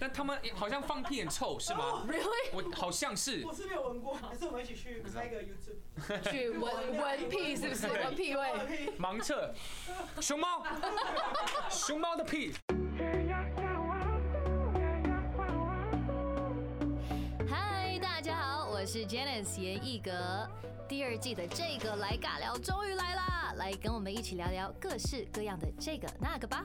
但他们好像放屁很臭，是吗 ？Really？ 我好像是。 我是没有闻过，还是我们一起去拍个 YouTube 去闻屁是不是？闻屁味。 盲测，熊猫的屁。 嗨，大家好，我是 Janice 严艺格。第2季的这个来尬聊终于来啦，来跟我们一起聊聊各式各样的这个那个吧。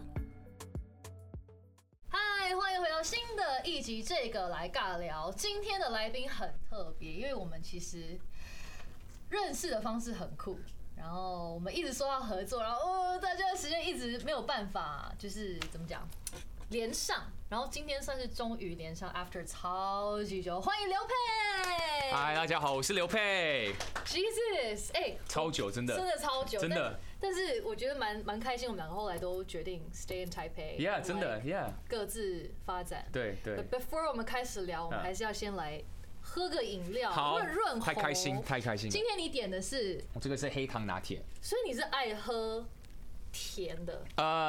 嗨，欢迎回到新的一集这个来尬聊。今天的来宾很特别，因为我们其实认识的方式很酷。然后我们一直说要合作，然后大家的时间一直没有办法，就是怎么讲连上。然后今天算是终于连上 ，after 超级久，欢迎刘佩。 嗨，大家好，我是刘佩。 Jesus， 超久，真的超久， 真的。 但是我觉得蛮开心，我们两个后来都决定 stay in Taipei。Yeah， 真的 ，Yeah， 各自发展。 对。 Before 我们开始聊，我们还是要先来喝个饮料，润喉。 太开心。 今天你点的是？ 我这个是黑糖拿铁。 所以你是爱喝甜的？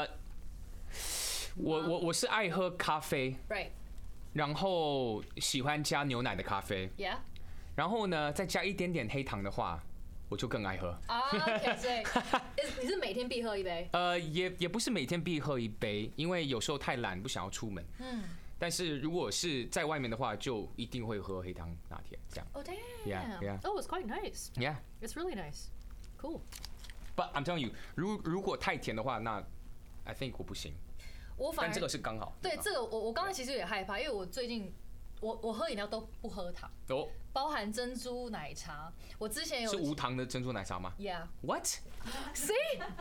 我是爱喝咖啡 ，Right， 然后喜欢加牛奶的咖啡 ，Yeah， 然后呢再加一点点黑糖的话，我就更爱喝。 OK， 所以你是每天必喝一杯？ 也不是每天必喝一杯，因为有时候太懒不想要出门。但是如果是在外面的话，就一定会喝黑糖拿铁这样。 Oh damn！Yeah. Oh, it's quite nice. Yeah. It's really nice. Cool. But I'm telling you， 如果太甜的话，那 I think 我不行。但这个是刚好。 对，这个我刚才其实也害怕，因为我最近我喝饮料都不喝糖，包含珍珠奶茶。我之前有是无糖的珍珠奶茶吗 ？Yeah。What？ See？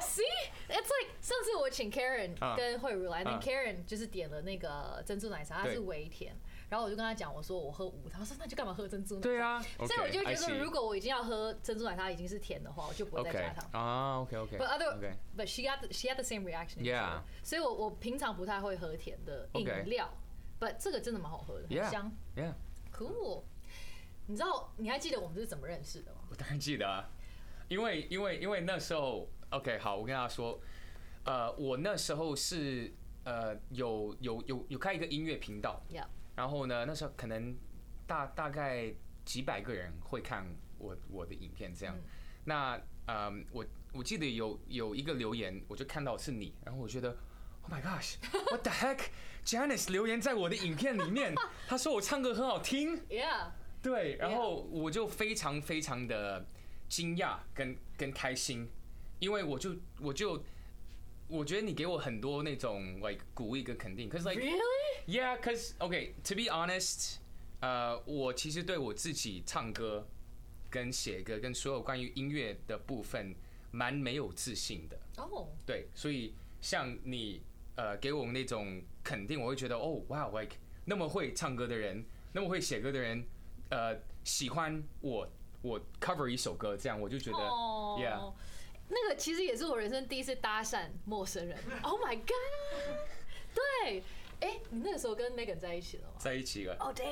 It's like 上次我请 Karen 跟慧茹来，那 Karen 就是点了那个珍珠奶茶，它是微甜，然后我就跟他讲，我说我喝无糖，他说那就干嘛喝珍珠奶茶？ 对啊。 所以我就觉得，如果我已经要喝珍珠奶茶已经是甜的话，我就不会再加糖。 OK。 But she had the same reaction. Yeah. 所以我平常不太会喝甜的饮料。But 这个真的蛮好喝的，很香。 Yeah. Cool。你知道你还记得我们是怎么认识的吗？ 我当然记得啊，因为那时候 OK 好，我跟大家说，我那时候是有开一个音乐频道，然后呢那时候可能大概几百个人会看我的影片这样，那我记得有一个留言，我就看到是你，然后我觉得。Oh my gosh! What the heck? Janice 留言在我的影片里面，他说我唱歌很好听。 Yeah. 对，然后我就非常的惊讶跟开心，因为我觉得你给我很多那种 like 鼓励跟肯定。Cause like Really? Yeah, cause okay. To be honest, 我其实对我自己唱歌跟写歌跟所有关于音乐的部分蛮没有自信的。对，所以像你。给我们那种肯定，我会觉得哦，哇 ，like 那么会唱歌的人，那么会写歌的人，喜欢我 cover 一首歌，这样我就觉得 ，yeah。 那个其实也是我人生第一次搭讪陌生人。Oh my god！ 对，你那个时候跟 Megan 在一起了吗？ 在一起了。 Oh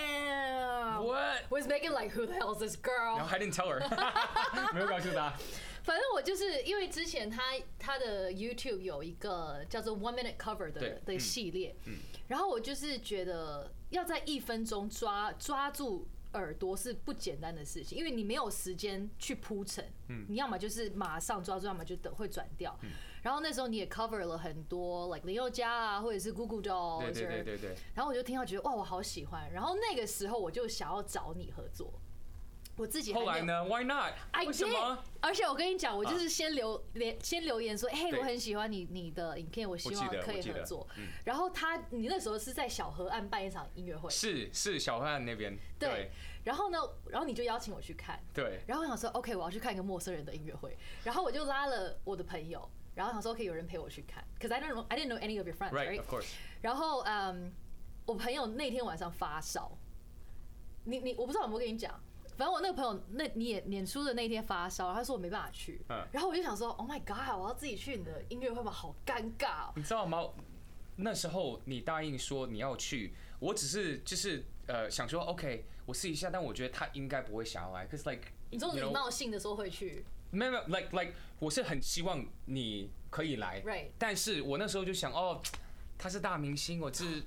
damn! What was Megan like? Who the hell is this girl? No, I didn't tell her. 没有告诉她。 反正我就是因为之前他的 YouTube 有一个叫做 One Minute Cover 的系列，然后我就是觉得要在1分钟抓住耳朵是不简单的事情，因为你没有时間去铺陈，你要么就是马上抓住，要么就会转掉。然后那时候你也 cover 了很多 like 林宥嘉啊，或者是 Goo Goo Dolls， 对。 然后我就听到觉得哇，我好喜欢。然后那个时候我就想要找你合作。我自己后来呢 ？Why not？ 为什么？ 而且我跟你讲，我就是先留言说，我很喜欢你的影片，我希望可以合作。然后你那时候是在小河岸办一场音乐会， 是小河岸那边。对。 然后你就邀请我去看。 对。 然后我想说 ，OK， 我要去看一个陌生人的音乐会。然后我就拉了我的朋友，然后想说，OK， 有人陪我去看。Cause I didn't know any of your friends, right? Of course. 然后我朋友那天晚上发烧，我不知道有没有跟你讲。反正我那个朋友，你也演出的那一天发烧，他说我没办法去，然后我就想说 ，Oh my God， 我要自己去你的音乐会吗？好尴尬哦。 你知道吗？那时候你答应说你要去，我只是就是想说 OK， 我试一下，但我觉得他应该不会想要来 ，cause like 你说礼貌性的说会去， 没有 like 我是很希望你可以来， right， 但是我那时候就想哦，他是大明星，我是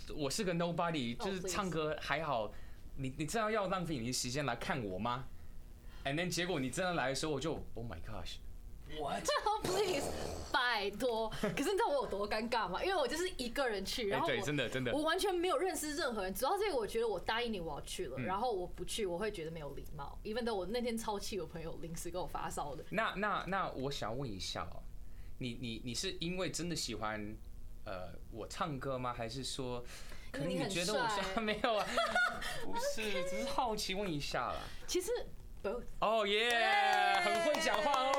我是个 nobody， 就是唱歌还好，你真的要浪费你的时间来看我吗 ？And then 结果你真的来的时候，我就 Oh my gosh。What? Please， 拜托！可是你知道我有多尴尬吗？因为我就是一个人去，然后对，真的， 我完全没有认识任何人。主要是我觉得我答应你我要去了，然后我不去，我会觉得没有礼貌。even though 我那天超气，我朋友临时跟我发烧的。 那我想问一下哦，你是因为真的喜欢我唱歌吗？还是说可能你觉得我帅？没有啊，不是，只是好奇问一下啦。 其实。 哦耶，很会讲话哦。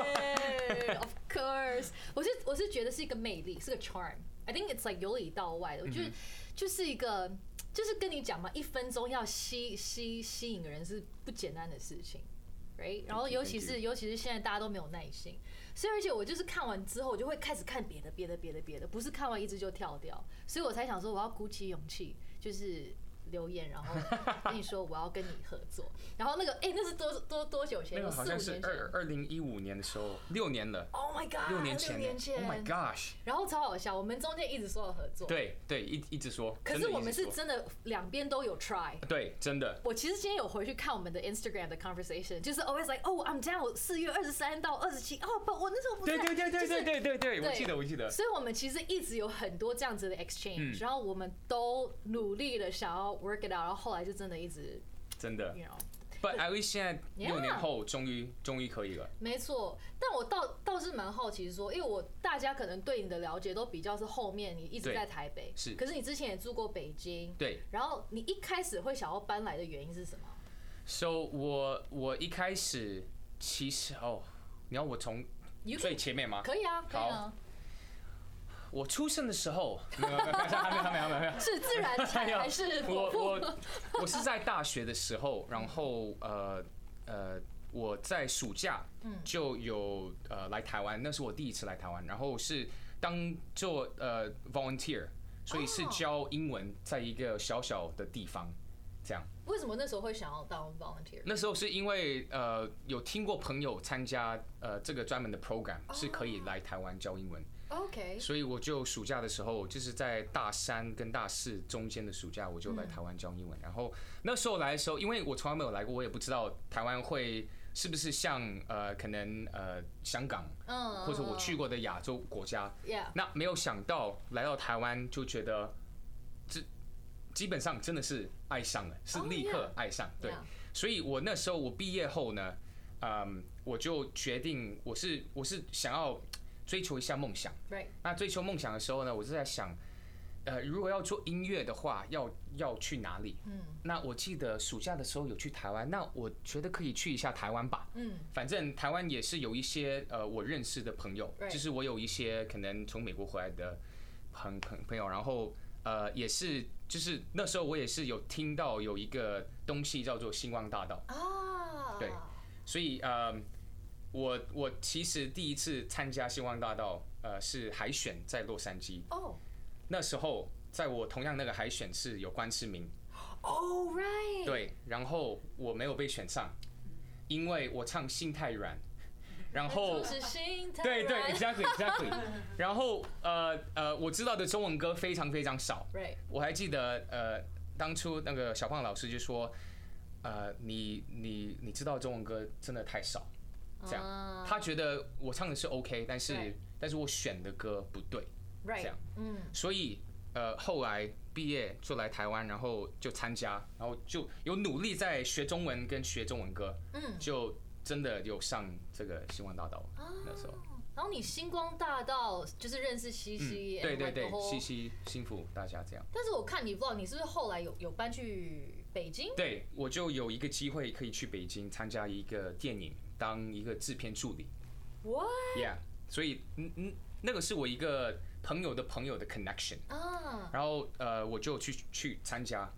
Of course， 我是觉得是一个魅力，是个 charm。I think it's like 由里到外的，我觉得就是一个，就是跟你讲嘛，1分钟要吸引人是不简单的事情 ，right？ 然后尤其是现在大家都没有耐心，所以而且我就是看完之后，我就会开始看别的，不是看完一支就跳掉，所以我才想说我要鼓起勇气，就是留言，然后跟你说我要跟你合作。然后那个那是多久前？ 那个好像是2015年的时候，6年了。 Oh my god！ 6年前。Oh my gosh！ 然后超好笑，我们中间一直说要合作。 对，一直说。 可是我们是真的两边都有 try。 对，真的。 我其实今天有回去看我们的 Instagram 的 conversation， 就是 always like I'm down， 4月23到27，不，我那时候不在。 对，我记得。 所以我们其实一直有很多这样子的 exchange，然后我们都努力的想要 work it out， 然后后来就真的一直真的。But at least 现在6年后终于可以了。 没错，但我倒是蛮好奇说，因为大家可能对你的了解都比较是后面你一直在台北， 是， 可是你之前也住过北京， 对， 然后你一开始会想要搬来的原因是什么 ？So 我一开始其实你要我从最前面吗？ 可以啊，可以啊。 我出生的时候，没有， 是自然产还是剖腹？ 我是在大学的时候，然后我在暑假就有来台湾，那是我第一次来台湾，然后是当做volunteer， 所以是教英文，在一个小小的地方，这样。 为什么那时候会想要当 volunteer？ 那时候是因为有听过朋友参加这个专门的 program， 是可以来台湾教英文。 OK， 所以我就暑假的时候，就是在大3跟大4中间的暑假，我就来台湾教英文。然后那时候来的时候，因为我从来没有来过，我也不知道台湾会是不是像可能香港，或者我去过的亚洲国家。那没有想到来到台湾，就觉得基本上真的是爱上了，是立刻爱上。对，所以我那时候我毕业后呢，我就决定我是想要追求一下梦想。那追求梦想的时候呢，我就在想，如果要做音乐的话，要去哪里？那我记得暑假的时候有去台湾，那我觉得可以去一下台湾吧。反正台湾也是有一些我认识的朋友，就是我有一些可能从美国回来的朋友，然后也是就是那时候我也是有听到有一个东西叫做星光大道对，所以我其实第一次参加星光大道，是海选在洛杉矶。那时候在我同样那个海选是有关世明。 right。 对，然后我没有被选上，因为我唱心太软。然后对 exactly。然后我知道的中文歌非常非常少。我还记得当初那个小胖老师就说，你知道中文歌真的太少。这样，他觉得我唱的是 OK， 但是我选的歌不对，这样，所以后来毕业就来台湾，然后就参加，然后就有努力在学中文跟学中文歌，就真的有上这个星光大道那时候。 然后你星光大道就是认识西西， 对，西西幸福大家这样。 但是我看你 vlog， 你是不是后来有搬去北京？ 对，我就有一个机会可以去北京参加一个电影。当一个制片助理 ，What？ Yeah， 所以那个是我一个朋友的朋友的 connection 然后我就去参加，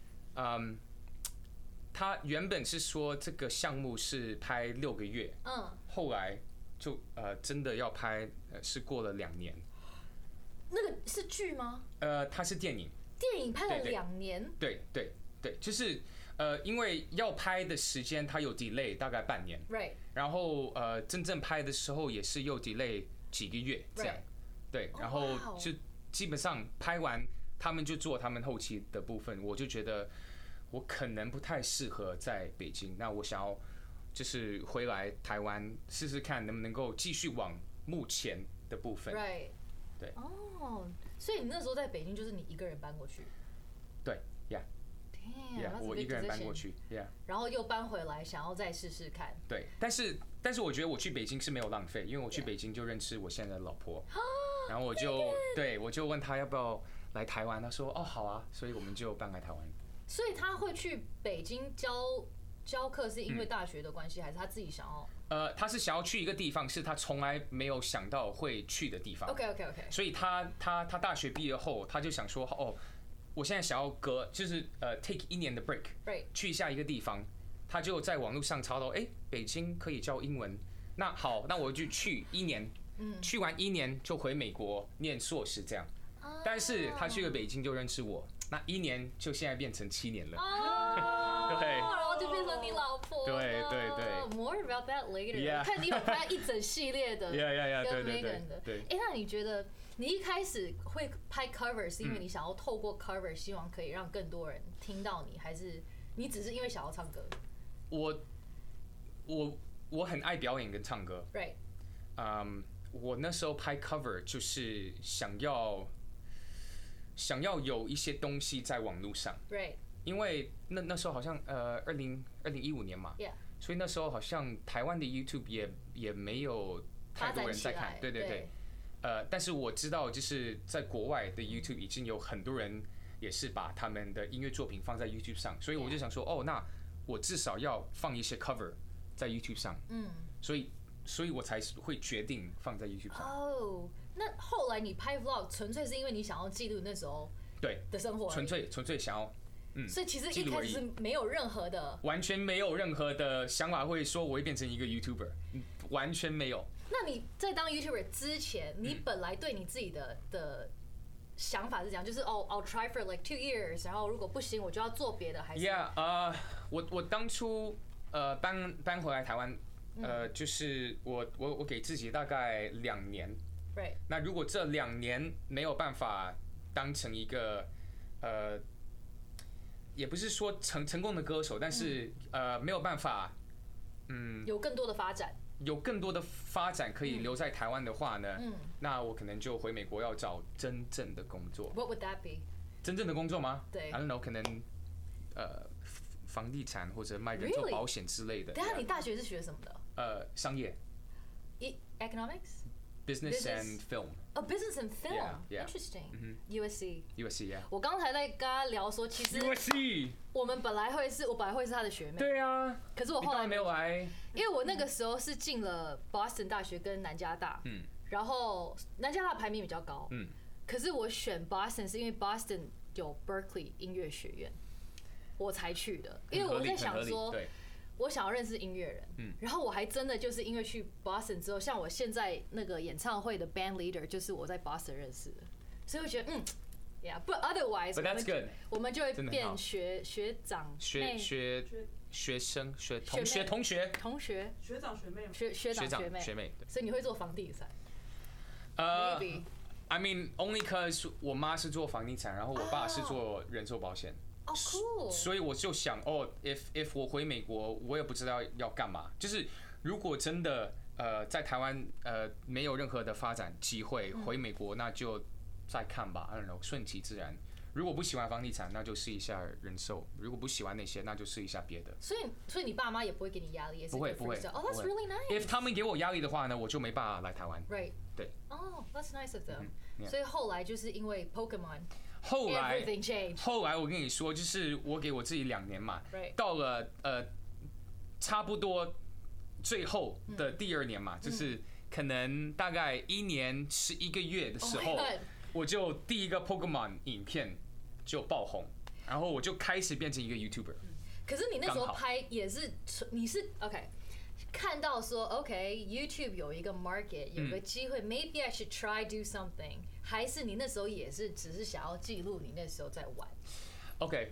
他原本是说这个项目是拍6个月，后来就真的要拍，是过了2年。 那个是剧吗？ 它是电影。 电影拍了2年。 对，就是。因为要拍的时间它有 delay 大概半年，然后真正拍的时候也是又 delay 几个月这样，对，然后就基本上拍完他们就做他们后期的部分，我就觉得我可能不太适合在北京，那我想要就是回来台湾试试看能不能够继续往目前的部分。 Right。 对。 哦，所以你那时候在北京就是你一个人搬过去？ 对 ，Yeah。我一个人搬过去 ，Yeah。 然后又搬回来，想要再试试看。 对，但是我觉得我去北京是没有浪费，因为我去北京就认识我现在的老婆，然后我就问他要不要来台湾，他说哦好啊，所以我们就搬来台湾。 所以他会去北京教课，是因为大学的关系，还是他自己想要？ 他是想要去一个地方，是他从来没有想到会去的地方。 OK。 所以他大学毕业后，他就想说哦，我现在想要就是take 1年的 break， 去一下一个地方。他就在网络上查到，北京可以教英文，那好，那我就去1年，去完1年就回美国念硕士这样。但是他去了北京就认识我，那1年就现在变成7年了。对， 然后就变成你老婆。 对。 More about that later。 Yeah。 看你有拍一整系列的跟 Megan 的。 对。 那你觉得你一开始会拍 cover 是因为你想要透过 cover 希望可以让更多人听到你，还是你只是因为想要唱歌？ 我很爱表演跟唱歌。 Right。 我那时候拍 cover 就是想要有一些东西在网络上。 Right。 因为那时候好像2015年嘛。 Yeah。 所以那时候好像台湾的 YouTube 也没有太多人在看。对。但是我知道就是在国外的 YouTube 已经有很多人也是把他们的音乐作品放在 YouTube 上，所以我就想说哦，那我至少要放一些 cover 在 YouTube 上。所以我才会决定放在 YouTube 上。 哦，那后来你拍 vlog 纯粹是因为你想要记录那时候的生活， 纯粹想要。 所以其实一开始是没有任何的， 完全没有任何的想法会说我会变成一个 YouTuber， 完全没有。 那你在当 YouTuber 之前，你本来对你自己的想法是这样，就是I'll try for like 2 years， 然后如果不行我就要做别的，还是 ？Yeah， 我当初搬回来台湾，就是我给自己大概2年。 Right。 那如果这2年没有办法当成一个也不是说成功的歌手，但是没有办法， 有更多的发展， 可以留在台湾的话呢，那我可能就回美国要找真正的工作。 What would that be？ 真正的工作吗？ 对 ，I don't know， 可能房地产或者卖人寿保险之类的。 等下你大学是学什么的？ 商业。 Economics。Business and film. Oh, business and film. Yeah. Interesting. USC. Yeah. 我刚才在跟他聊说，其实 USC 我本来会是他的学妹。 对啊。 可是我后来没有来， 因为我那个时候是进了 Boston 大学跟南加大。然后南加大排名比较高。可是我选 Boston 是因为 Boston 有 Berkeley 音乐学院，我才去的。因为我在想说。我想要认识音乐人，然后我还真的就是因为去 Boston 之后，像我现在那个演唱会的 band leader 就是我在 Boston 认识的，所以我觉得yeah， but otherwise， but that's good， 我们就会变学长、 学生、同学、 学长学妹、 学妹， 所以你会做房地产 ？Maybe。I mean only cause 我妈是做房地产，然后我爸是做人寿保险。 cool。 所以我就想if 我回美国，我也不知道要干嘛。就是如果真的在台湾没有任何的发展机会，回美国那就再看吧。I don't know， 顺其自然。如果不喜欢房地产，那就试一下人寿；如果不喜欢那些，那就试一下别的。所以你爸妈也不会给你压力，也是不会。 Oh, that's really nice. If 他们给我压力的话呢，我就没办法来台湾。 Right。 对。 Oh, that's nice of them. 所以后来就是因为 Pokemon。 后来我跟你说，就是我给我自己2年嘛，到了差不多最后的第2年嘛，就是可能大概1年11个月的时候，我就第一个 Pokemon 影片就爆红，然后我就开始变成一个 YouTuber。 可是你那时候拍也是，你是 OK。看到说 OK，YouTube 有一个 market， 有个机会，maybe I should try do something， 还是你那时候也是只是想要记录你那时候在玩 ？OK，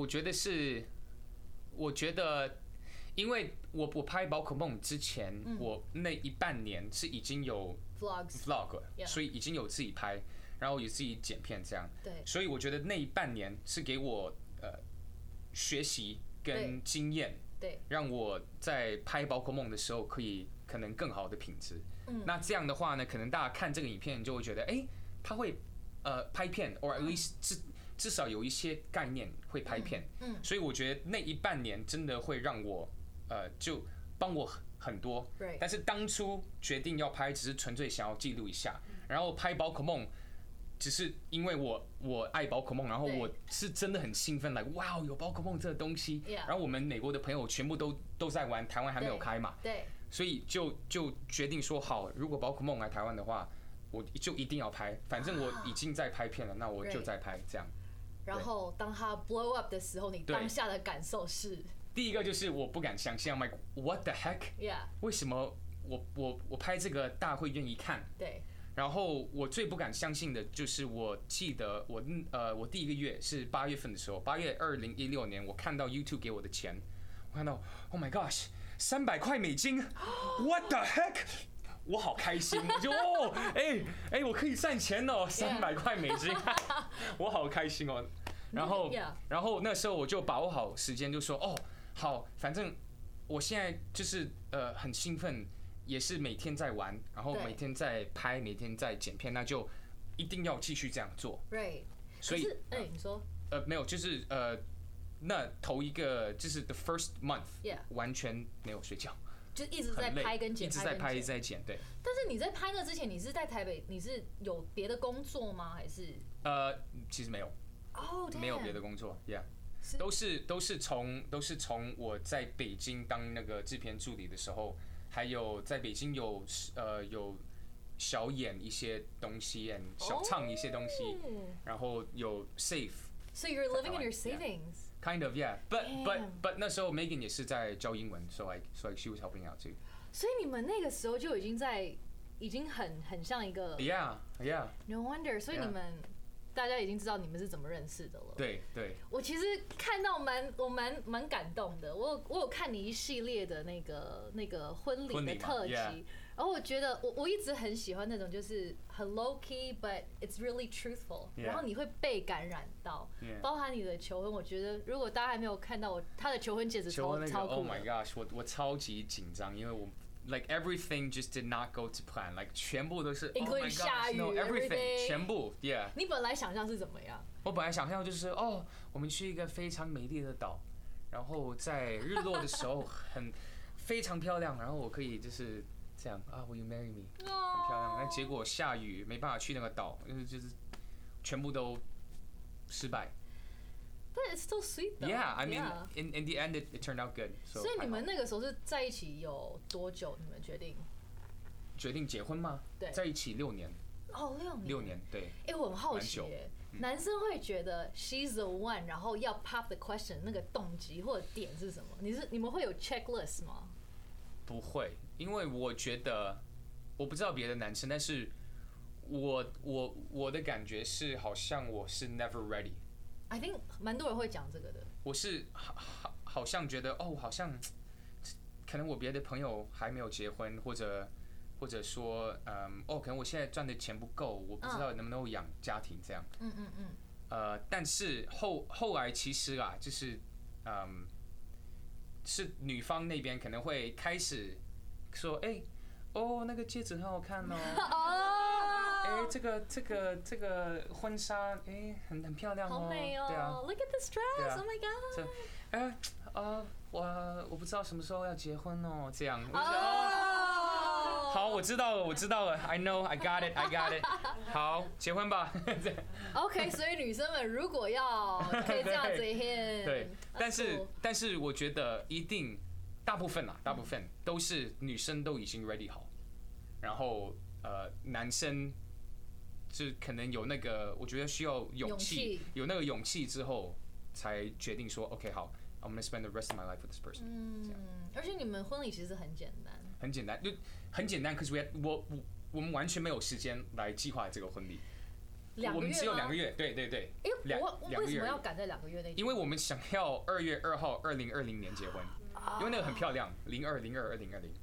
我觉得，因为我拍宝可梦之前，我那1半年是已经有 vlog， 所以已经有自己拍。 然后也自己剪片这样。 对， 所以我觉得那半年是给我学习跟经验， 对， 让我在拍宝可梦的时候可能更好的品质。那这样的话呢，可能大家看这个影片就会觉得，他会拍片 ，or at least 至少有一些概念会拍片。所以我觉得那一半年真的会让我就帮我很多。但是当初决定要拍，只是纯粹想要记录一下，然后拍宝可梦。只是因为我爱宝可梦，然后我是真的很兴奋，like 哇，有宝可梦这个东西。然后我们美国的朋友全部都在玩，台湾还没有开嘛。 对。 所以就决定说好，如果宝可梦来台湾的话，我就一定要拍。反正我已经在拍片了，那我就在拍这样。 然后当它 blow up 的时候，你当下的感受是？ 第一个就是我不敢相信 ，I'm like what the heck？ 为什么我拍这个大家会愿意看？ 对。 然后我最不敢相信的就是，我记得我第一个月是8月份的时候，8月2016年，我看到 YouTube 给我的钱，我看到 Oh my gosh， 300块美金 ，What the heck？ 我好开心，我就我可以赚钱哦，300块美金，我好开心哦。然后那时候我就把握好时间，就说好，反正我现在就是很兴奋。也是每天在玩，然后每天在拍，每天在剪片，那就一定要继续这样做。 对， 所以你说没有，就是那头一个就是 the first month， 完全没有睡觉， 就一直在拍跟剪， 一直在拍一直在剪，对。 但是你在拍那之前，你是在台北，你是有别的工作吗？还是其实没有， 没有别的工作 ，yeah。都是从我在北京当那个制片助理的时候。还有在北京有小演一些东西，小唱一些东西，然后有 save。So you're living in your savings. Kind of, yeah. But 那时候 Megan 也是在教英文 ，so she was helping out too. 所以你们那个时候就已经很像一个 Yeah. No wonder. 所以你们大家已经知道你们是怎么认识的了。 对。 我其实看到我蛮感动的。我有看你一系列的那个婚礼的特辑，然后我觉得我一直很喜欢那种就是很 low key but it's really truthful， 然后你会被感染到，包含你的求婚。我觉得如果大家还没有看到他的求婚戒指超酷的。 Oh my gosh， 我超级紧张，因为我。Like everything just did not go to plan. Like 全部都是 including 下雨 no everything 全部 yeah。 你本来想象是怎么样？ 我本来想象就是我们去一个非常美丽的岛，然后在日落的时候非常漂亮，然后我可以就是这样Will you marry me？ 很漂亮。但结果下雨，没办法去那个岛，就是全部都失败。 But it's still sweet though. Yeah, I mean, in the end, it turned out good. 所以你们那个时候是在一起有多久？你们决定结婚吗？ 对， 在一起6年。6年，对。 我很好奇男生会觉得 she's the one， 然后要 pop the question 那个动机或者点是什么？你们会有 checklist 吗？ 不会，因为我觉得我不知道别的男生，但是我的感觉是好像我是 never ready。I think 蛮多人会讲这个的。 我是好像觉得好像可能我别的朋友还没有结婚，或者说可能我现在赚的钱不够，我不知道能不能养家庭这样。但是后来其实啦，就是是女方那边可能会开始说那个戒指很好看这个婚纱很漂亮好美哦。 对啊 ，Look at this dress， Oh my god。我不知道什么时候要结婚哦，这样。好，我知道了 ，I know， I got it。好，结婚吧。 OK， 所以女生们如果要可以这样子对，但是我觉得一定大部分都是女生都已经 ready 好，然后男生就可能有那个，我觉得需要勇气，有那个勇气之后才决定说 OK 好。I'm gonna spend the rest of my life with this person。 而且你们婚礼其实很简单， 可是我们完全没有时间来计划这个婚礼。 我们只有2个月，对。 为什么要赶在2个月内？ 因为我们想要2月2号2020年结婚，因为那个很漂亮，02/02/2020。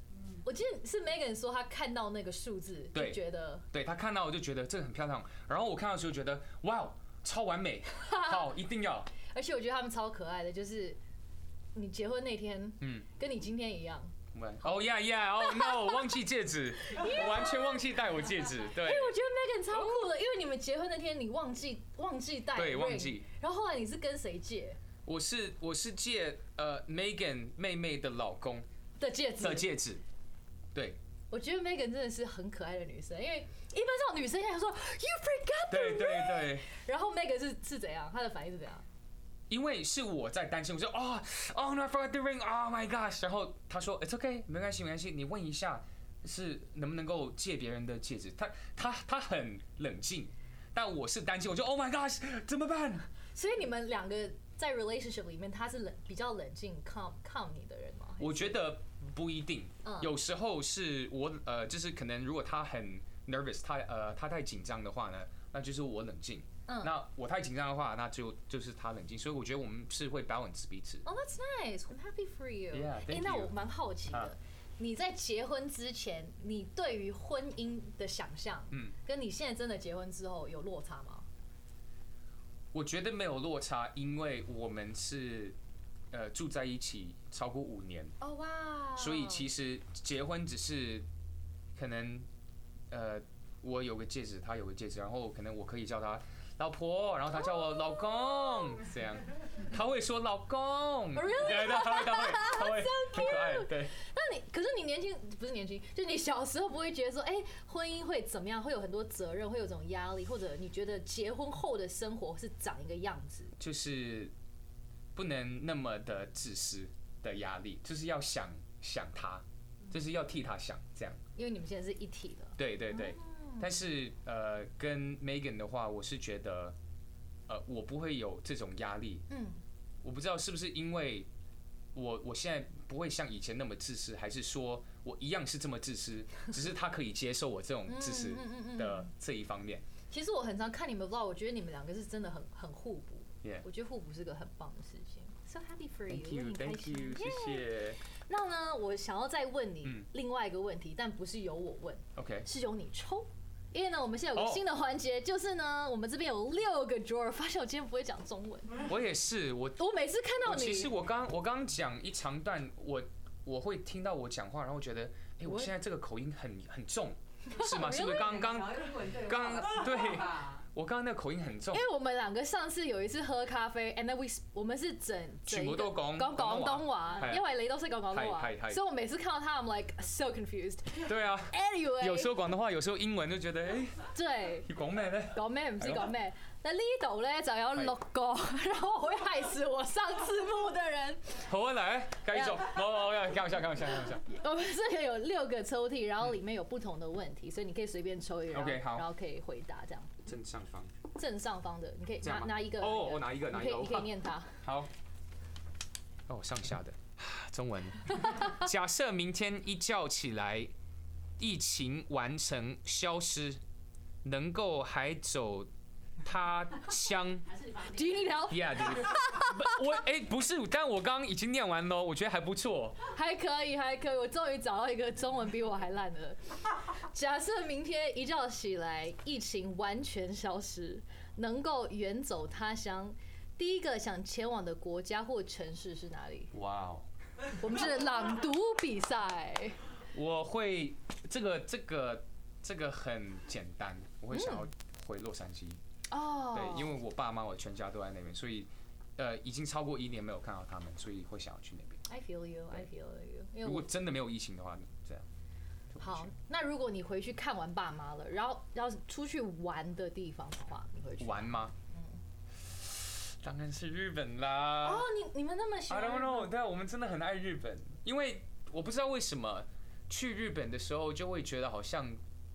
我记得是 Megan 说她看到那个数字就觉得， 对她看到我就觉得这个很漂亮，然后我看到的时候觉得哇，超完美，好，一定要。 而且我觉得他们超可爱的，就是你结婚那天，跟你今天一样。 哦呀呀，哦 no， 忘记戒指，我完全忘记戴我戒指。对， 我觉得 Megan 超酷的，因为你们结婚那天你忘记戴， 对，忘记。 然后后来你是跟谁借？ 我是借Megan 妹妹的老公的戒指。 对。 我觉得 Megan 真的是很可爱的女生，因为一般这种女生想说 You forgot the ring。 对。 然后 Megan 是怎样？她的反应是怎样？ 因为是我在担心，我说oh no I forgot the ring，oh my gosh， 然后他说 it's okay， 没关系，你问一下是能不能够借别人的戒指。他很冷静，但我是担心，我就 oh my gosh 怎么办？ 所以你们两个在 relationship 里面，他是比较冷静 calm 你的人吗？ 我觉得不一定，有时候是我就是可能如果他很 nervous， 他太紧张的话呢，那就是我冷静。那我太紧张的话，那就是他冷静，所以我觉得我们是会 balance 彼此。 Oh, that's nice. I'm happy for you. Yeah, thank you. 那我蛮好奇的，你在结婚之前，你对于婚姻的想象，跟你现在真的结婚之后有落差吗？ 我觉得没有落差，因为我们是住在一起超过5年。 哦哇！ 所以其实结婚只是可能我有个戒指，他有个戒指，然后可能我可以叫他老婆，然后他叫我老公，这样，他会说老公，对，他会，很可爱，对。 那可是你不是年轻，就你小时候不会觉得说，婚姻会怎么样，会有很多责任，会有这种压力，或者你觉得结婚后的生活是长一个样子？ 就是不能那么的自私的压力，就是要想他，就是要替他想，这样。 因为你们现在是一体的。 对。但是跟 Megan 的话，我是觉得我不会有这种压力。我不知道是不是因为我现在不会像以前那么自私，还是说我一样是这么自私，只是他可以接受我这种自私的这一方面。 其实我很常看你们 vlog， 我觉得你们两个是真的很互补。我觉得互补是个很棒的事情。So happy for you， Thank you， 谢谢。 那呢，我想要再问你另外一个问题，但不是由我问 ，OK， 是由你抽。因为呢，我们现在有个新的环节，就是呢，我们这边有6个 drawer。发现我今天不会讲中文。 我也是，我每次看到你， 其实我刚讲一长段，我会听到我讲话，然后觉得，我现在这个口音很重，是吗？是不是刚对？我刚刚那个口音很重， 因为我们2个上次有一次喝咖啡 ，and then 我們是全部都講廣東話，因為你都識講廣東話，所以我每次看到他 ，I'm like so confused。 對啊 ，anyway， 有時候廣東話，有時候英文就覺得， 對， 你講咩咧？ 講咩唔知講咩。那呢度咧就有6個，然後我會害死我上字幕的人。 好啊，來，繼續，我開玩笑。 我們這裡有6個抽屜，然後裡面有不同的問題，所以你可以隨便抽一個，然後可以回答這樣。正上方的，你可以拿一個。 我拿一個， 你可以念它。 好。上下的中文。假設明天一覺起來，疫情完成消失，能夠還走他鄉。 Do you need help? Yeah, dude. 不是，但我剛剛已經念完了，我覺得還不錯。 還可以，我終於找到一個中文比我還爛的。假設明天一覺起來，疫情完全消失，能夠遠走他鄉，第一個想前往的國家或城市是哪裡？ 哇哦！ 我們是朗讀比賽。 我會這個很簡單，我會想要回洛杉矶。對，因為我爸媽我全家都在那邊，所以已經超過1年沒有看到他們，所以會想要去那邊。 I feel you. 如果真的沒有疫情的話，這樣。 好，那如果你回去看完爸媽了，然後要出去玩的地方的話，你會去玩嗎？當然是日本啦。 哦，你們那麼喜歡 I don't know， 對，我們真的很愛日本，因為我不知道為什麼去日本的時候就會覺得好像，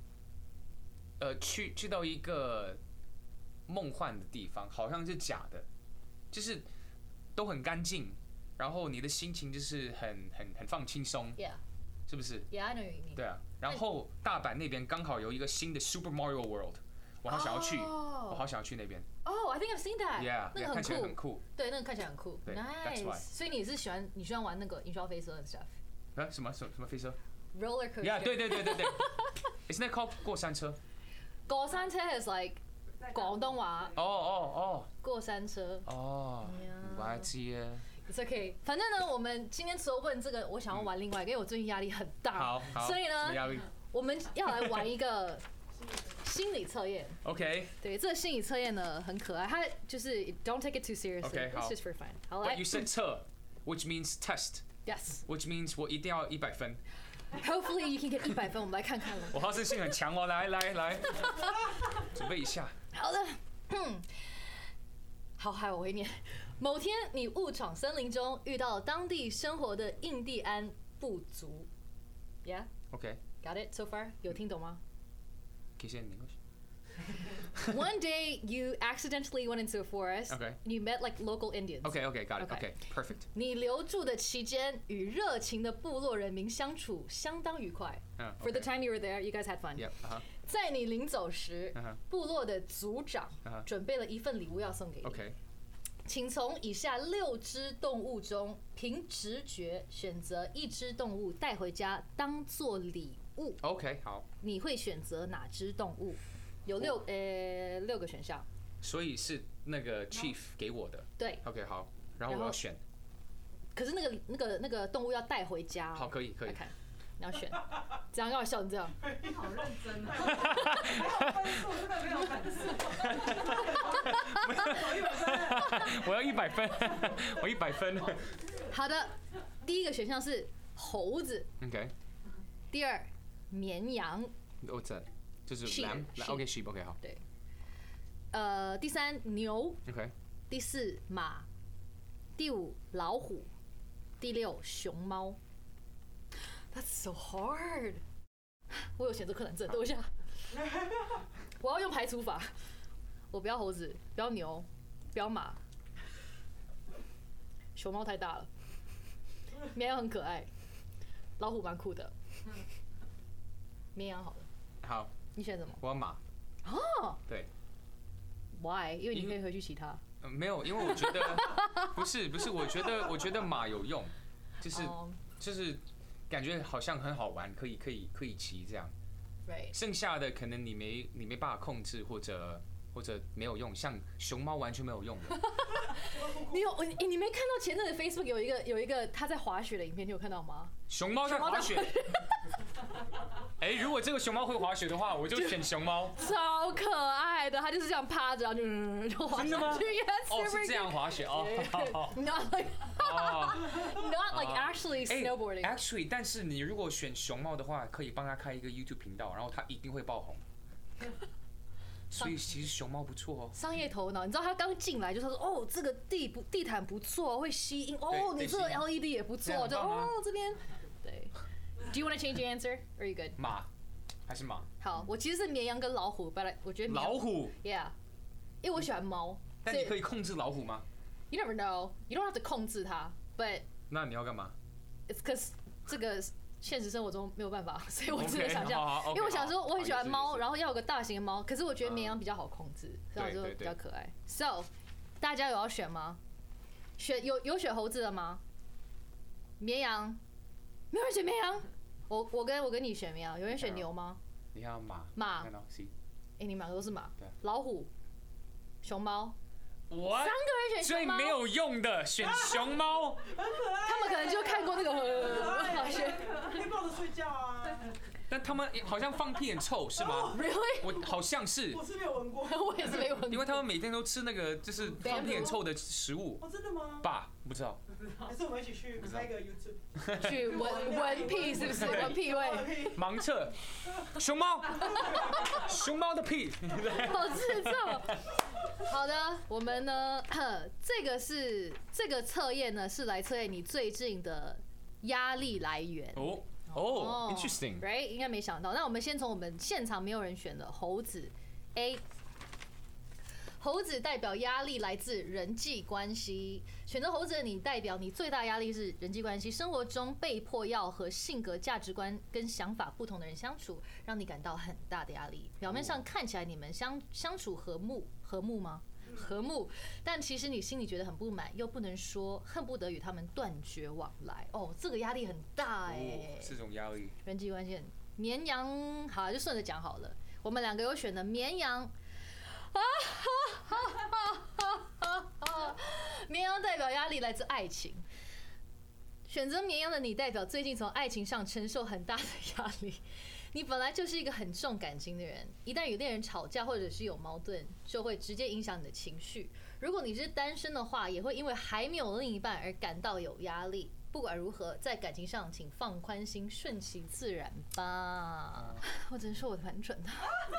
去到一個夢幻的地方，好像是假的，就是都很乾淨，然後你的心情就是很放輕鬆， 是不是 ？Yeah, I know what you mean. 對啊，然後大阪那邊剛好有一個新的 Super Mario World， 我好想要去，我好想要去那邊。 Oh, I think I've seen that. Yeah， 那個看起來很酷。 對，那個看起來很酷。Nice. 所以你喜歡玩那個雲霄飛車的 stuff？ 什麼飛車？ roller coaster. Yeah， 对。Isn't that called 过山车？ 过山车 is like 广东话。 哦。 过山车。 哦，我还记得。 It's okay。反正呢，我们今天除了问这个，我想要玩另外一个，因为我最近压力很大。 好。 所以呢，我们要来玩一个心理测验。 OK。 对，这个心理测验呢很可爱，它就是 don't take it too seriously. OK， it's just for fun. 好，来。 But you said 测 ，which means test. Yes. Which means 我一定要100分。 Hopefully you can get 100分，我们来看看了。 我好胜心很强哦，来，准备一下。 好的，好，还有我会念。某天你误闯森林中，遇到当地生活的印第安部族。Yeah. OK. Got it so far? 有听懂吗？ 可以先念过去。 One day you accidentally went into a forest. Okay. And you met like local Indians. Okay, got it. Okay, perfect. 你留住的期间，与热情的部落人民相处相当愉快。For the time you were there, you guys had fun. Yep. 在你临走时，部落的族长准备了一份礼物要送给你。 Okay. 请从以下6只动物中，凭直觉选择1只动物带回家当做礼物。 OK， 好。 你会选择哪只动物？有6个选项， 所以是那个 chief 给我的。 对。 OK， 好，然后我要选。 可是那个动物要带回家哦。 好，可以。 来看，你要选，这样要笑成这样。 你好认真啊！还有分数，真的没有分数。 我要100分，我100分。 好的，第一个选项是猴子。 OK。 第2，绵羊。 我这。就是 lamb， OK sheep OK 好。 对。第3牛 OK。 第4马，第5老虎，第6熊猫。That's so hard。我有选择困难症，等我一下。我要用排除法。我不要猴子，不要牛，不要马。熊猫太大了，绵羊很可爱，老虎蛮酷的。绵羊好了。 好。 你选什么？ 我要马。 哦。 对。 Why？ 因为你可以回去骑它。 没有，因为我觉得不是，我觉得马有用，就是感觉好像很好玩，可以骑这样。 Right。 剩下的可能你没办法控制，或者没有用，像熊猫完全没有用的。 你没看到前阵子 Facebook 有一个他在滑雪的影片，你有看到吗？ 熊猫在滑雪。如果这个熊猫会滑雪的话，我就选熊猫。 超可爱的，它就是这样趴着，然后就滑下去。 真的吗？哦，是这样滑雪哦。 Not like actually snowboarding. Actually， 但是你如果选熊猫的话，可以帮他开一个 YouTube 频道，然后他一定会爆红。所以其实熊猫不错哦。 商业头脑，你知道他刚进来就说哦，这个地毯不错，会吸音哦，你这个 LED 也不错，就哦这边对。Do you want to change your answer? Or are you good? 马还是马？ 好，我其实是绵羊跟老虎 ，but 我觉得老虎 ，Yeah， 因为我喜欢猫。 但你可以控制老虎吗 ？You never know. You don't have to 控制它 ，but 那你要干嘛 ？It's because 这个现实生活中没有办法，所以我只能想象。因为我想说我很喜欢猫，然后要有个大型的猫，可是我觉得绵羊比较好控制，所以我就比较可爱。So， 大家有要选吗？有选猴子的吗？绵羊，没有人选绵羊。我跟你选绵羊，有人选牛吗？ 你要马。 你们两个都是马。老虎、熊猫。3个人选最没有用的选熊猫。 他们可能就看过那个可以抱着睡觉啊。 但他们好像放屁很臭，是吗 ？Really？ 我好像是。 我是没有闻过。 我也是没闻过。 因为他们每天都吃那个就是放屁很臭的食物。 真的吗？ 爸，不知道。 还是我们一起去开个 YouTube， 去闻屁是不是？闻屁味。 盲测。熊猫的屁。 好智障。好的，我们呢，这个测验呢是来测验你最近的压力来源。 interesting。 Right， 应该没想到。那我们先从我们现场没有人选的猴子 A。猴子代表压力来自人际关系，选择猴子的你代表你最大压力是人际关系，生活中被迫要和性格、价值观跟想法不同的人相处，让你感到很大的压力。表面上看起来你们相处和睦吗？ 和睦，但其实你心里觉得很不满，又不能说，恨不得与他们断绝往来。哦，这个压力很大哎。 这种压力。 人际关系，绵羊，好，就顺着讲好了。我们2个有选的绵羊。绵羊代表压力来自爱情。选择绵羊的你，代表最近从爱情上承受很大的压力。你本来就是一个很重感情的人，一旦与恋人吵架或者是有矛盾，就会直接影响你的情绪。如果你是单身的话，也会因为还没有另一半而感到有压力。不管如何，在感情上请放宽心，顺其自然吧。我只能说我蛮准的。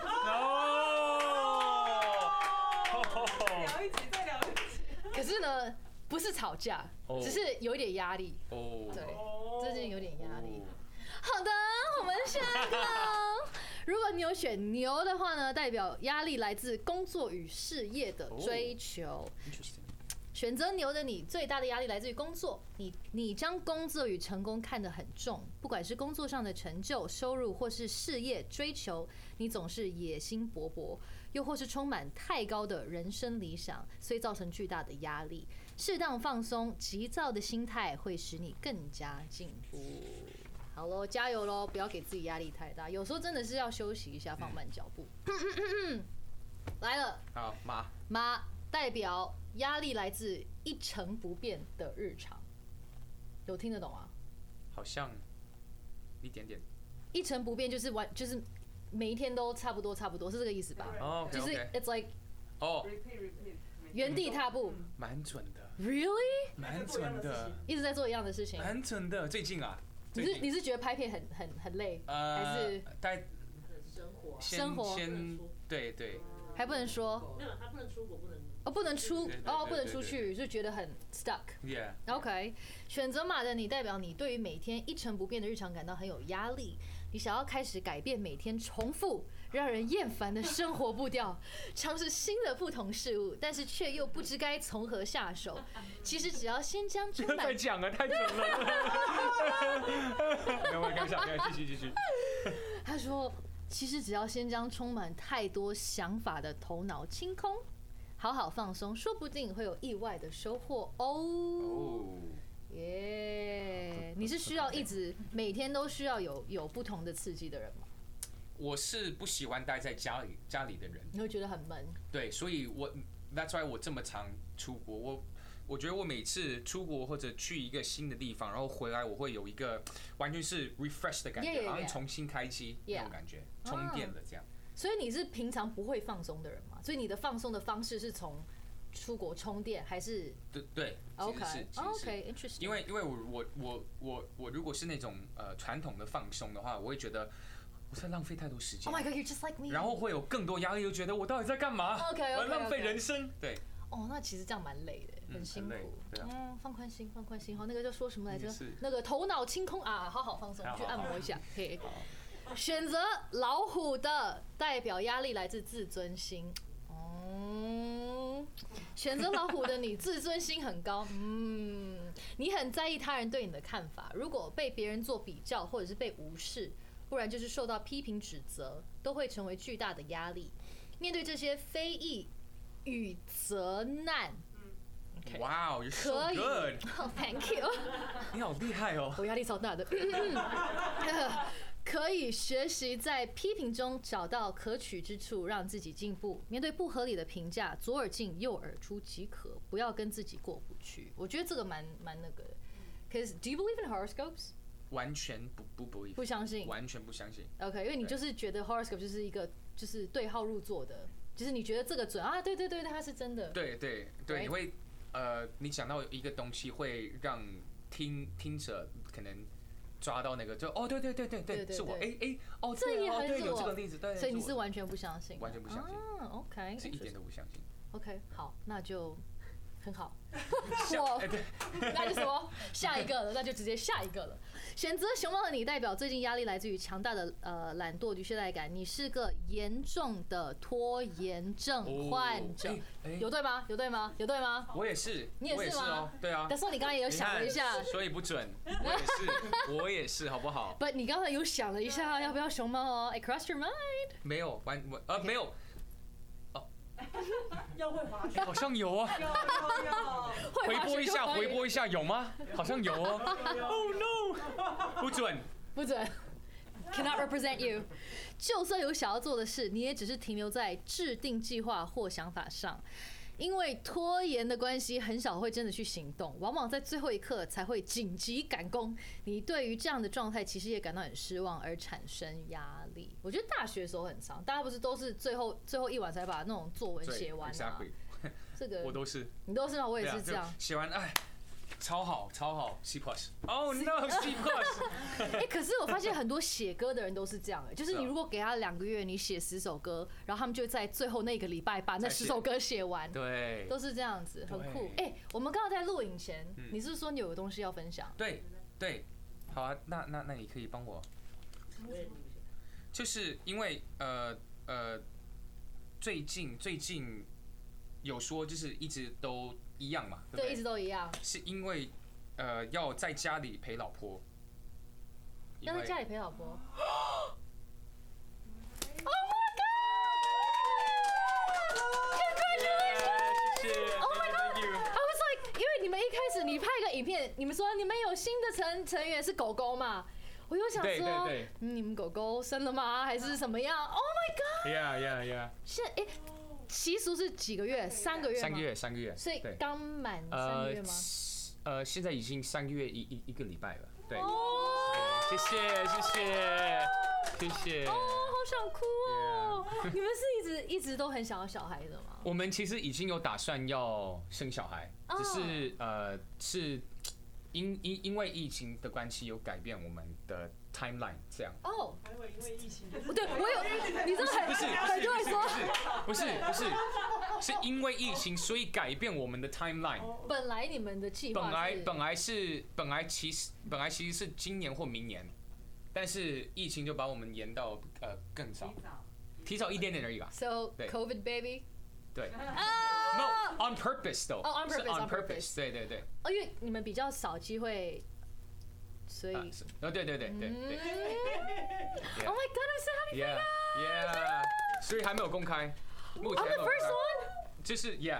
聊一集再聊一集。 可是呢，不是吵架，只是有一点压力。对，最近有点压力。好的，我们下一个。如果你有选牛的话呢，代表压力来自工作与事业的追求。选择牛的你，最大的压力来自于工作。你将工作与成功看得很重，不管是工作上的成就、收入，或是事业追求，你总是野心勃勃，又或是充满太高的人生理想，所以造成巨大的压力。适当放松，急躁的心态会使你更加进步。好咯，加油咯，不要给自己压力太大，有时候真的是要休息一下，放慢脚步。来了， 好， 马代表压力来自一成不变的日常，有听得懂吗？ 好像一点点。 一成不变就是每一天都差不多，是这个意思吧？ 哦， 就是 it's like 原地踏步， 蛮准的。 Really？ 蛮准的， 一直在做一样的事情， 蛮准的。最近啊， 你是觉得拍片很累，还是生活？先对， 还不能说， 没有，他不能出国，不能不能出去，就觉得很 stuck。OK， 选择马的你，代表你对于每天一成不变的日常感到很有压力，你想要开始改变每天重复、让人厌烦的生活步调，尝试新的不同事物，但是却又不知该从何下手。其实只要先将充满…… 再讲了，太准了。没有，开玩笑，继续。 他说。其实只要先将充满太多想法的头脑清空，好好放松，说不定会有意外的收获哦。耶！你是需要一直每天都需要有不同的刺激的人吗？ 我是不喜欢待在家里的人， 你会觉得很闷。对， 所以that's why 我这么常出国。我觉得我每次出国或者去一个新的地方，然后回来，我会有一个完全是 refresh 的感觉，好像重新开机那种感觉，充电的这样。 所以你是平常不会放松的人吗？所以你的放松的方式是从出国充电，还是？ 对 ，OK，interesting。 因为我如果是那种传统的放松的话，我会觉得我在浪费太多时间。 Oh my God, you're just like me。 然后会有更多压力，就觉得我到底在干嘛？我浪费人生。对。 哦，那其实这样蛮累的，很辛苦。放宽心，好，那个叫说什么来着？那个头脑清空啊，好好放松，去按摩一下。嘿，选择老虎的代表压力来自自尊心。选择老虎的你，自尊心很高。你很在意他人对你的看法，如果被别人做比较，或者是被无视，不然就是受到批评指责，都会成为巨大的压力。面对这些非议与责难， 哇哦， you're so good， Thank you， 你好厉害哦， 我压力超大的。可以学习在批评中找到可取之处，让自己进步。面对不合理的评价，左耳进右耳出即可，不要跟自己过不去。我觉得这个蛮那个的。Cause do you believe in horoscopes？ 完全不 believe， 不相信， 完全不相信。 OK， 因为你就是觉得 horoscope 就是一个就是对号入座的。就是你觉得这个准啊？对，它是真的。 对，你会你讲到一个东西，会让听者可能抓到那个，就对，是我， 这也很有这个例子，对， 所以你是完全不相信， 完全不相信 ，OK， 是一点都不相信。 OK， 好，那就很好。那就什么下一个了，那就直接下一个了。选择熊猫的你，代表最近压力来自于强大的懒惰与懈怠感，你是个严重的拖延症患者，有对吗？ 我也是， 你也是吗？ 对啊。 但是你刚刚也有想了一下， 所以不准。我也是，好不好？ 不，你刚才有想了一下要不要熊猫哦？ It crossed your mind？ 没有，没有。 要会滑雪， 好像有啊。 要回播一下，有吗？好像有哦。Oh no， 不准。 Cannot represent you。就算有想要做的事，你也只是停留在制定计划或想法上。因为拖延的关系，很少会真的去行动，往往在最后一刻才会紧急赶工。你对于这样的状态，其实也感到很失望，而产生压力。我觉得大学的时候很长，大家不是都是最后一晚才把那种作文写完吗？这个我都是， 你都是吗？我也是这样。 写完，哎，超好 C+。Oh no C+。 可是我发现很多写歌的人都是这样的，就是你如果给他2个月，你写10首歌，然后他们就在最后那个礼拜把那10首歌写完， 对， 都是这样子，很酷。我们刚刚在录影前，你是不是说你有个东西要分享？ 对，好啊，那你可以帮我，就是因为最近有说就是一直都一样嘛，对不对？ 对，一直都一样。 是因为要在家里陪老婆。 要在家里陪老婆。Oh my god！ 谢谢。 Oh my god！I was like， 因为你们一开始你拍一个影片，你们说你们有新的成员是狗狗嘛？我又想说，你们狗狗生了吗？还是什么样 ？Oh my god！ 现在习俗是几个月？3个月吗 ？3个月。 所以刚满3个月吗？ 现在已经3个月一个礼拜了。对。谢谢。 哦，好想哭哦！你们是一直都很想要小孩的吗？ 我们其实已经有打算要生小孩，只是是因为疫情的关系有改变我们的 timeline 这样。 哦，还以为因为疫情。 对，我有，你真的很多人说， 不是，是因为疫情所以改变我们的 timeline。 本来你们的计划本来其实是今年或明年，但是疫情就把我们延到更早，提早一点点而已吧。 So COVID baby。 对。No, on purpose though. On purpose. 对。 因为你们比较少机会，所以。 对。Oh my god, I'm so happy for you. 所以还没有公开。目前 On the first one. 就是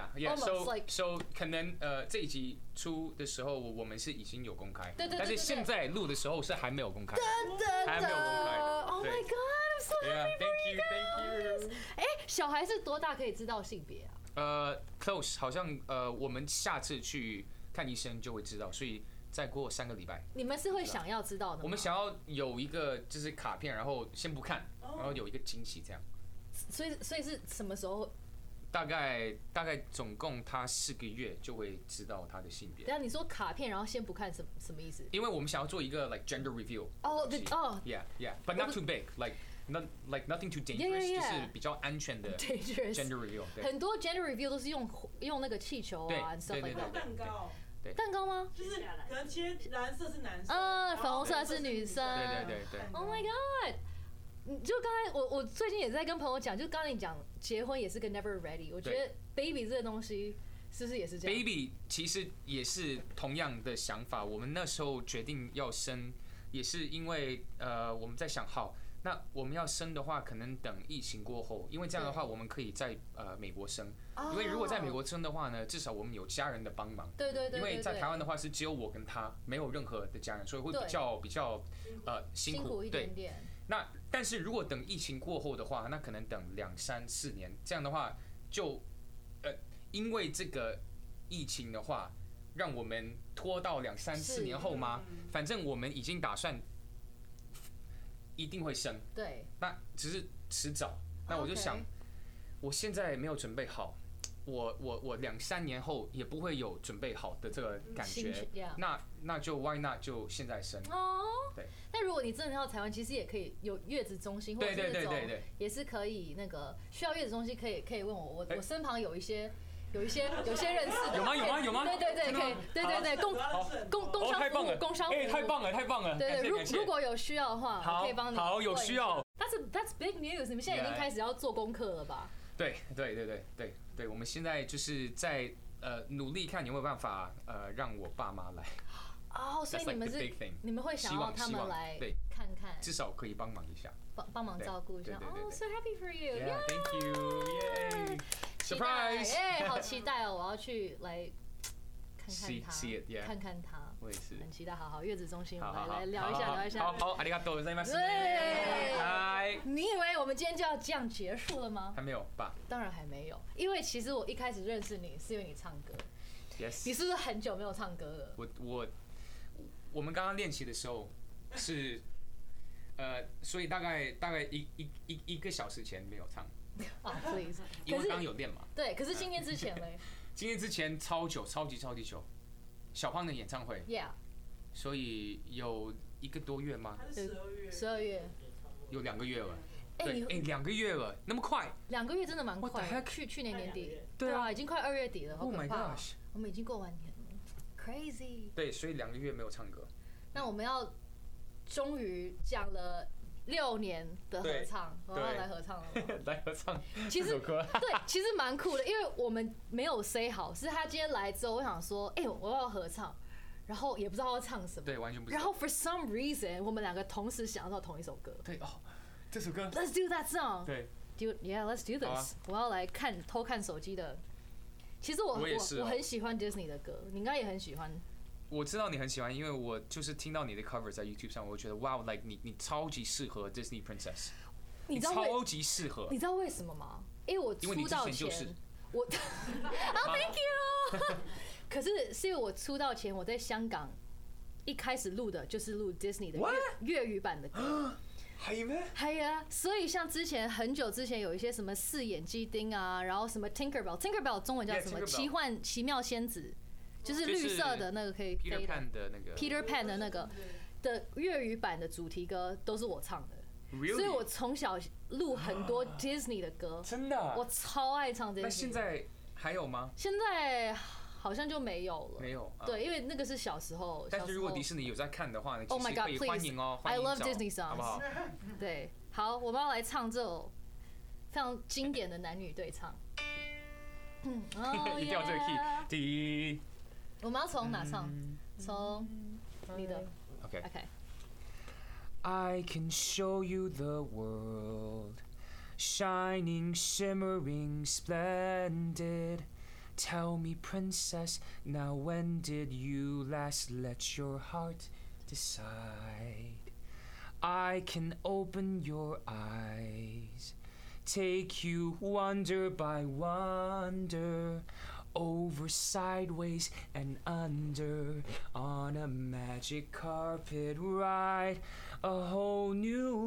So 可能这一集出的时候我们是已经有公开，但是现在录的时候是还没有公开，还没有公开。 Oh my god, I'm so happy for you guys. 小孩是多大可以知道性别啊 ？Close 好像我们下次去看医生就会知道，所以再过3个礼拜。 你们是会想要知道的吗？ 我们想要有一个就是卡片，然后先不看，然后有一个惊喜这样。 所以是什么时候？ 大概总共他4个月就会知道他的性别。 等下你说卡片，然后先不看什么意思？ 因为我们想要做一个 like gender reveal。Yeah, but not too big, like nothing too dangerous， 就是比较安全的 gender reveal。 很多 gender reveal 都是用那个气球啊， 对，蛋糕。 蛋糕吗？ 就是可能切蓝色是男生， 粉红色是女生。 对。 Oh my god！就刚才我最近也在跟朋友讲，就刚才你讲结婚也是个 never ready， 我觉得 baby 这个东西是不是也是这样 ？baby 其实也是同样的想法。我们那时候决定要生，也是因为我们在想，好，那我们要生的话，可能等疫情过后，因为这样的话我们可以在美国生。因为如果在美国生的话呢，至少我们有家人的帮忙。 对。 因为在台湾的话是只有我跟他，没有任何的家人，所以会比较辛苦一点点。 那但是如果等疫情过后的话，那可能等2、3、4年，这样的话就因为这个疫情的话，让我们拖到2、3、4年后吗？反正我们已经打算一定会生， 对， 那只是迟早。那我就想，我现在没有准备好，我2、3年后也不会有准备好的这个感觉，那就 why not 就现在生。对。 但如果你真的到台湾，其实也可以有月子中心，或者是那种也是可以那个需要月子中心可以问我身旁有一些认识的。 有吗？ 对，可以，对，工商服务， 太棒了。 对，如果有需要的话，我可以帮你。 好，有需要。 That's big news！ 你们现在已经开始要做功课了吧？ 对，我们现在就是在努力看有没有办法让我爸妈来。 所以你们会想要他们来看看， 至少可以帮忙一下， 帮忙照顾一下。So happy for you! Yeah, thank you! Yay! 期待，哎，好期待哦！我要去来看看他，看看他。 我也是， 很期待。好，月子中心，我们来聊一下。 好，ありがとうございます。 对，你以为我们今天就要这样结束了吗？ 还没有吧？ 当然还没有，因为其实我一开始认识你是因为你唱歌。 Yes。 你是不是很久没有唱歌了？ 我们刚刚练习的时候是，所以大概一个小时前没有唱。 啊 ，please。 因为刚刚有练嘛。 对，可是今天之前嘞？ 今天之前超久，超级久。小胖的演唱会 ，Yeah， 所以有1个多月吗 ？12月， 有2个月了。对，2个月了，那么快 ？2个月真的蛮快。去年年底， 对啊， 已经快2月底了，好可怕。 Oh my gosh， 我们已经过完年了 ，crazy。 对，所以2个月没有唱歌。 那我们要终于讲了6年的合唱，我要来合唱了。 来合唱这首歌。 对，其实蛮酷的，因为我们没有 say 好，是他今天来之后，我想说，我要合唱，然后也不知道要唱什么， 对，完全不知道。 然后 for some reason， 我们2个同时想到同一首歌。 对哦，这首歌。 Let's do that song。 对。 Yeah，let's do this。我要来偷看手机的。其实我很喜欢 Disney 的歌，你应该也很喜欢。 我知道你很喜欢，因为我就是听到你的 cover 在 YouTube 上，我就觉得哇 ，like 你超级适合 Disney Princess， 你超级适合。 你知道为什么吗？因为我出道前，我，Thank you。可是因为我出道前，我在香港一开始录的就是录 Disney 的粤语版的歌。 係咩？ 係啊，所以像之前很久之前有一些什麼4眼雞丁啊，然後什麼 Tinkerbell 中文叫什麼奇妙仙子。就是绿色的那个可以飞的 Peter Pan 的那个 Peter Pan 的那个的粤语版的主题歌都是我唱的，所以我从小录很多 Disney 的歌， 真的， 我超爱唱 Disney。 那现在还有吗？ 现在好像就没有了， 没有。 对，因为那个是小时候。 但是如果迪士尼有在看的话， Oh my God， 可以欢迎哦 ，I love Disney songs， 好不好？ 对，好，我们要来唱这首非常经典的男女对唱。 一定要这个 key， 我们要从哪唱？从你的。 OK。 I can show you the world, shining, shimmering, splendid. Tell me, princess, now when did you last let your heart decide? I can open your eyes, take you wonder by wonder, over, sideways, and under, on a magic carpet ride, a whole new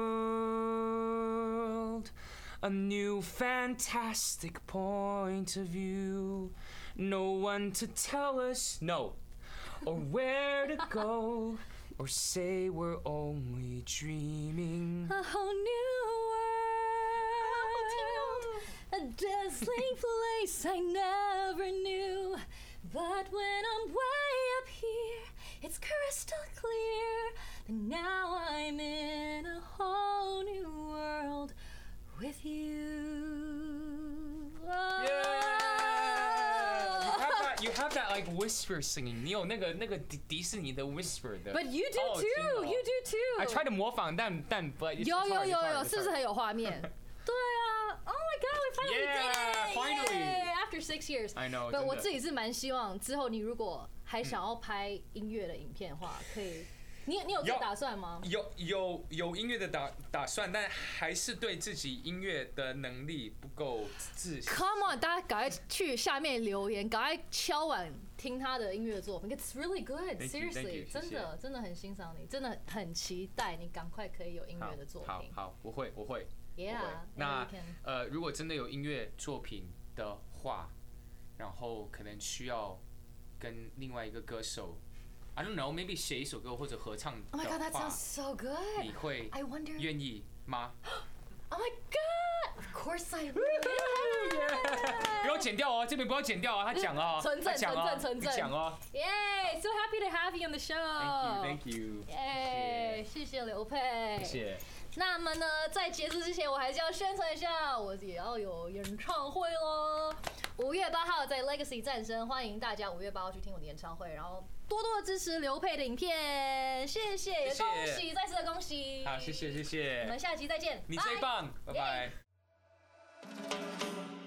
world, a new fantastic point of view, no one to tell us no, or where to go, or say we're only dreaming. A whole new world, a dazzling place I never knew. But when I'm way up here, it's crystal clear that now I'm in a whole new world with you. Oh. You have that like whisper singing. 你有那个迪士尼的 whisper 的。 But you do too. You do too. I try to 模仿，但 but 有，是不是很有画面？对啊 ，Oh my God, we finally did it! Finally, after 6 years. I know. 我自己是蛮希望之后你如果还想要拍音乐的影片的话，可以。你有这打算吗？ 有音乐的打算，但还是对自己音乐的能力不够自信。 Come on， 大家赶快去下面留言，赶快敲碗听他的音乐作品 ，It's really good. Seriously， 真的很欣赏你，真的很期待你赶快可以有音乐的作品。 好，我会。 Yeah， 那如果真的有音乐作品的话，然后可能需要跟另外一个歌手。I don't know, maybe 写一首歌或者合唱的话 Oh my God, that sounds so good. 你会愿意吗 ？Oh my God, of course I will. 不要剪掉哦，这边不要剪掉啊，他讲啊， 纯正， 你讲哦。 Yay, so happy to have you on the show. Thank you. 耶，谢谢刘佩。 谢谢。 那么呢，在结束之前，我还是要宣传一下，我也要有演唱会咯。5月8号在 Legacy 战声，欢迎大家5月8号去听我的演唱会，然后多多支持刘佩的影片，谢谢，也恭喜，再次的恭喜。 好，谢谢， 我们下期再见， 你最棒，拜拜。